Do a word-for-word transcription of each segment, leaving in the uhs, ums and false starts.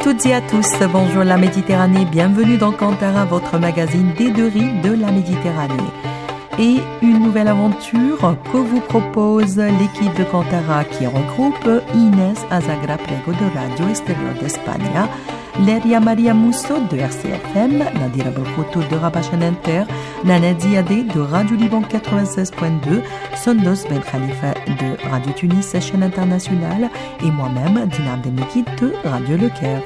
toutes et à tous, bonjour la Méditerranée, bienvenue dans Kantara, votre magazine des deux rives de la Méditerranée. Et une nouvelle aventure que vous propose l'équipe de Kantara qui regroupe Inès Azagra Prego de Radio Exterior d'Espagne, Leria Maria Musso de R C F M, Nadira Belkoutou de Rabat Inter, Nana Ziadé de Radio Liban quatre-vingt-seize point deux, Sondos Ben Khalifa de Radio Tunis chaîne internationale et moi-même Dina Abdelmekid de Radio Le Caire.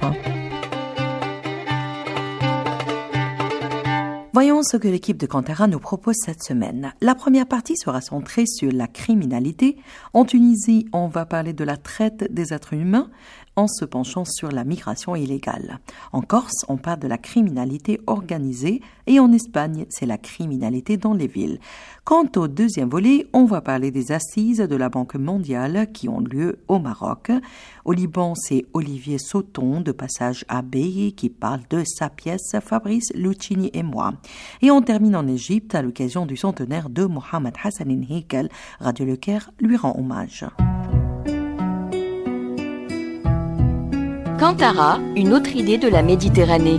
Voyons ce que l'équipe de Kantara nous propose cette semaine. La première partie sera centrée sur la criminalité. En Tunisie, on va parler de la traite des êtres humains en se penchant sur la migration illégale. En Corse, on parle de la criminalité organisée et en Espagne, c'est la criminalité dans les villes. Quant au deuxième volet, on va parler des assises de la Banque mondiale qui ont lieu au Maroc. Au Liban, c'est Olivier Sauton de Passage à Beyi qui parle de sa pièce Fabrice Lucchini et moi. Et on termine en Égypte à l'occasion du centenaire de Mohamed Hassanin Heikel. Radio Le Caire lui rend hommage. Kantara, une autre idée de la Méditerranée.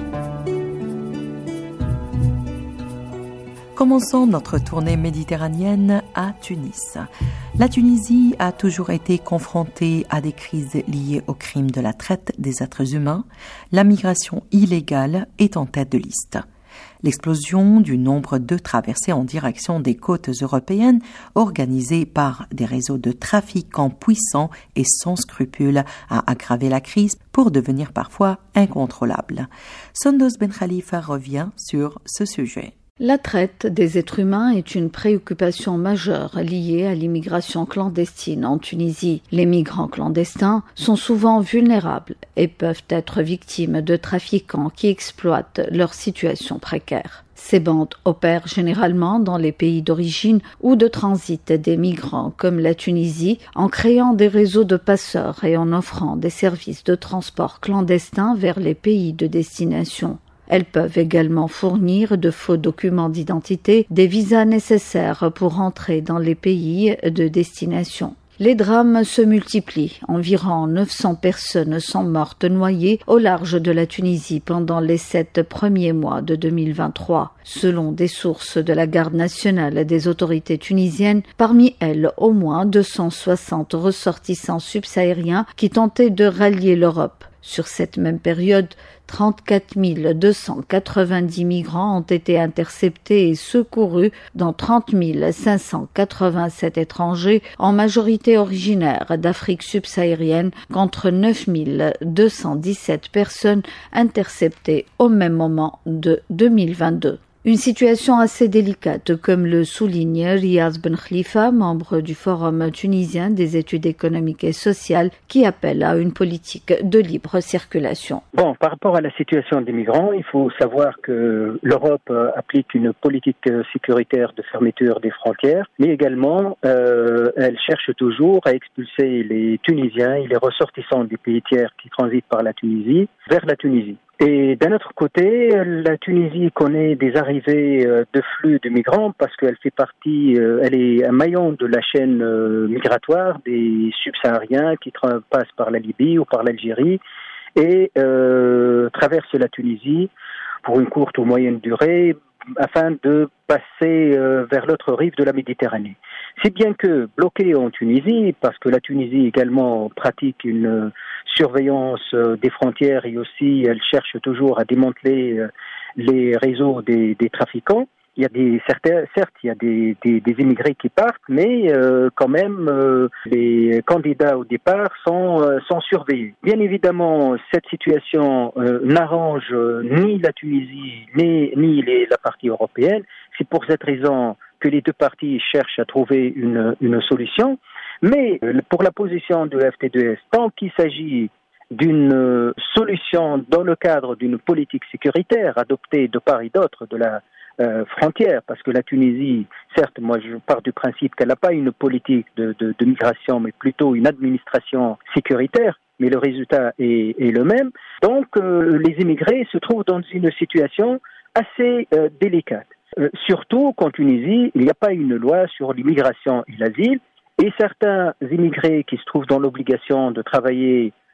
Commençons notre tournée méditerranéenne à Tunis. La Tunisie a toujours été confrontée à des crises liées au crime de la traite des êtres humains. La migration illégale est en tête de liste. L'explosion du nombre de traversées en direction des côtes européennes organisées par des réseaux de trafiquants puissants et sans scrupules a aggravé la crise pour devenir parfois incontrôlable. Sondos Ben Khalifa revient sur ce sujet. La traite des êtres humains est une préoccupation majeure liée à l'immigration clandestine en Tunisie. Les migrants clandestins sont souvent vulnérables et peuvent être victimes de trafiquants qui exploitent leur situation précaire. Ces bandes opèrent généralement dans les pays d'origine ou de transit des migrants comme la Tunisie en créant des réseaux de passeurs et en offrant des services de transport clandestins vers les pays de destination. Elles peuvent également fournir de faux documents d'identité, des visas nécessaires pour entrer dans les pays de destination. Les drames se multiplient. Environ neuf cents personnes sont mortes noyées au large de la Tunisie pendant les sept premiers mois de deux mille vingt-trois. Selon des sources de la garde nationale des autorités tunisiennes, parmi elles, au moins deux cent soixante ressortissants subsahariens qui tentaient de rallier l'Europe. Sur cette même période, trente-quatre mille deux cent quatre-vingt-dix migrants ont été interceptés et secourus, dont trente mille cinq cent quatre-vingt-sept étrangers, en majorité originaires d'Afrique subsaharienne, contre neuf mille deux cent dix-sept personnes interceptées au même moment de deux mille vingt-deux. Une situation assez délicate, comme le souligne Riaz Ben Khalifa, membre du Forum tunisien des études économiques et sociales, qui appelle à une politique de libre circulation. Bon, par rapport à la situation des migrants, il faut savoir que l'Europe applique une politique sécuritaire de fermeture des frontières, mais également, euh, elle cherche toujours à expulser les Tunisiens et les ressortissants des pays tiers qui transitent par la Tunisie vers la Tunisie. Et d'un autre côté, la Tunisie connaît des arrivées de flux de migrants parce qu'elle fait partie, elle est un maillon de la chaîne migratoire des subsahariens qui tra- passent par la Libye ou par l'Algérie et euh, traversent la Tunisie pour une courte ou moyenne durée afin de passer euh, vers l'autre rive de la Méditerranée. Si bien que bloqués en Tunisie, parce que la Tunisie également pratique une surveillance euh, des frontières et aussi elle cherche toujours à démanteler euh, les réseaux des, des trafiquants, il y a des certains, certes, il y a des, des, des immigrés qui partent, mais euh, quand même, euh, les candidats au départ sont, euh, sont surveillés. Bien évidemment, cette situation euh, n'arrange euh, ni la Tunisie ni, ni les, la partie européenne. C'est pour cette raison que les deux parties cherchent à trouver une, une solution. Mais euh, pour la position de F T deux S, tant qu'il s'agit d'une euh, solution dans le cadre d'une politique sécuritaire adoptée de part et d'autre de la Euh, frontière, parce que la Tunisie, certes, moi je pars du principe qu'elle n'a pas une politique de, de, de migration, mais plutôt une administration sécuritaire, mais le résultat est, est le même. Donc euh, les immigrés se trouvent dans une situation assez euh, délicate. Euh, surtout qu'en Tunisie, il n'y a pas une loi sur l'immigration et l'asile, et certains immigrés qui se trouvent dans l'obligation de travailler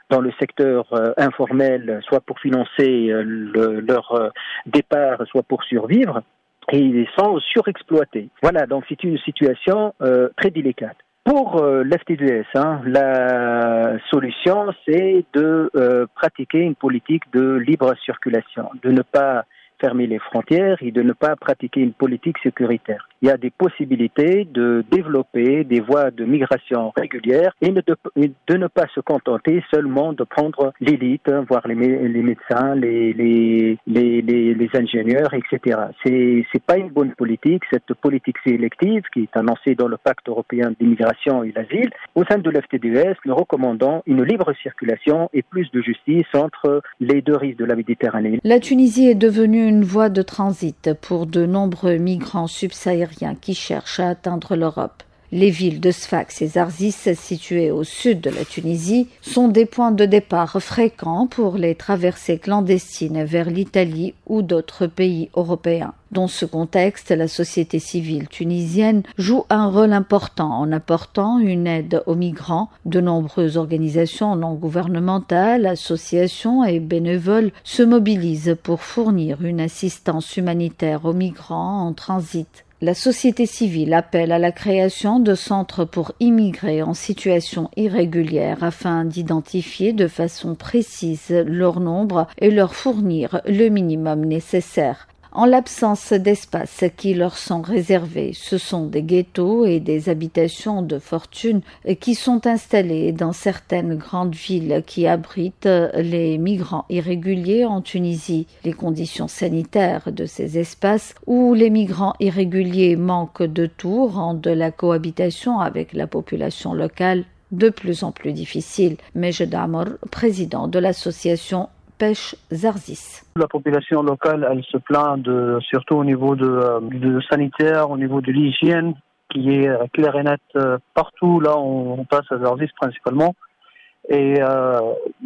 dans le secteur euh, informel, soit pour financer euh, le, leur euh, départ, soit pour survivre, et ils sont surexploités. Voilà, donc c'est une situation euh, très délicate. Pour euh, l'F T D S, hein, la solution, c'est de euh, pratiquer une politique de libre circulation, de ne pas fermer les frontières et de ne pas pratiquer une politique sécuritaire. Il y a des possibilités de développer des voies de migration régulières et de, de ne pas se contenter seulement de prendre l'élite, hein, voire les, les médecins, les, les, les, les, les ingénieurs, et cetera. C'est, c'est pas une bonne politique, cette politique sélective qui est annoncée dans le Pacte européen d'immigration et l'asile. Au sein de l'F T D S, nous recommandons une libre circulation et plus de justice entre les deux rives de la Méditerranée. La Tunisie est devenue une voie de transit pour de nombreux migrants subsahariens qui cherchent à atteindre l'Europe. Les villes de Sfax et Zarzis, situées au sud de la Tunisie, sont des points de départ fréquents pour les traversées clandestines vers l'Italie ou d'autres pays européens. Dans ce contexte, la société civile tunisienne joue un rôle important en apportant une aide aux migrants. De nombreuses organisations non gouvernementales, associations et bénévoles se mobilisent pour fournir une assistance humanitaire aux migrants en transit. La société civile appelle à la création de centres pour immigrés en situation irrégulière afin d'identifier de façon précise leur nombre et leur fournir le minimum nécessaire. En l'absence d'espaces qui leur sont réservés, ce sont des ghettos et des habitations de fortune qui sont installés dans certaines grandes villes qui abritent les migrants irréguliers en Tunisie. Les conditions sanitaires de ces espaces où les migrants irréguliers manquent de tout rendent la cohabitation avec la population locale de plus en plus difficile. Majd Amr, président de l'association Pêche Zarzis. La population locale, elle se plaint de, surtout au niveau de, de sanitaire, au niveau de l'hygiène, qui est clair et net partout. Là, on, on passe à Zarzis principalement. Et euh,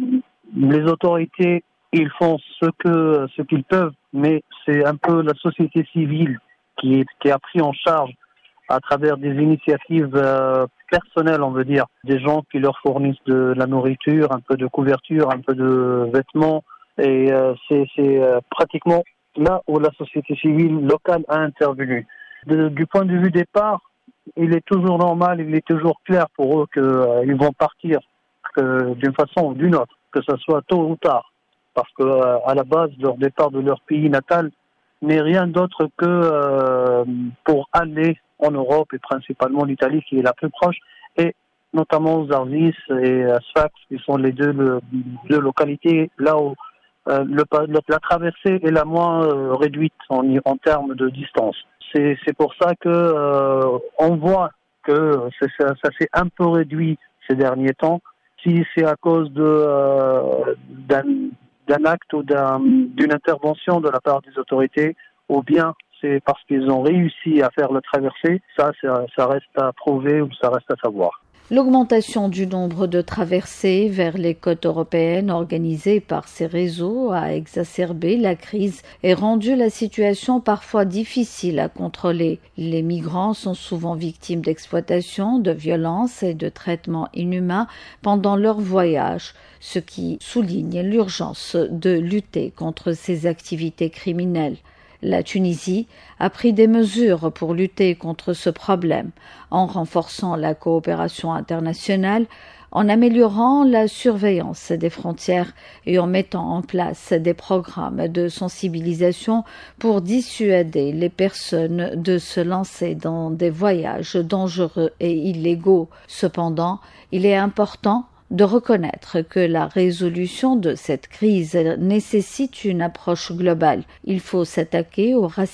les autorités, ils font ce que ce qu'ils peuvent, mais c'est un peu la société civile qui, est, qui a pris en charge à travers des initiatives euh, personnelles, on veut dire, des gens qui leur fournissent de la nourriture, un peu de couverture, un peu de vêtements, et euh, c'est, c'est euh, pratiquement là où la société civile locale a intervenu. De, du point de vue départ, il est toujours normal, il est toujours clair pour eux qu'ils euh, vont partir que, d'une façon ou d'une autre, que ce soit tôt ou tard, parce que euh, à la base, leur départ de leur pays natal n'est rien d'autre que euh, pour aller en Europe et principalement l'Italie qui est la plus proche, et notamment Zarzis et Sfax qui sont les deux, le, deux localités là où euh, le, le, la traversée est la moins euh, réduite en, en termes de distance. C'est, c'est pour ça que euh, on voit que c'est, ça, ça s'est un peu réduit ces derniers temps. Si c'est à cause de euh, d'un, d'un acte ou d'un, d'une intervention de la part des autorités, ou bien c'est parce qu'ils ont réussi à faire la traversée, ça, ça, ça reste à prouver ou ça reste à savoir. L'augmentation du nombre de traversées vers les côtes européennes organisées par ces réseaux a exacerbé la crise et rendu la situation parfois difficile à contrôler. Les migrants sont souvent victimes d'exploitation, de violences et de traitements inhumains pendant leur voyage, ce qui souligne l'urgence de lutter contre ces activités criminelles. La Tunisie a pris des mesures pour lutter contre ce problème, en renforçant la coopération internationale, en améliorant la surveillance des frontières et en mettant en place des programmes de sensibilisation pour dissuader les personnes de se lancer dans des voyages dangereux et illégaux. Cependant, il est important de reconnaître que la résolution de cette crise nécessite une approche globale. Il faut s'attaquer au racisme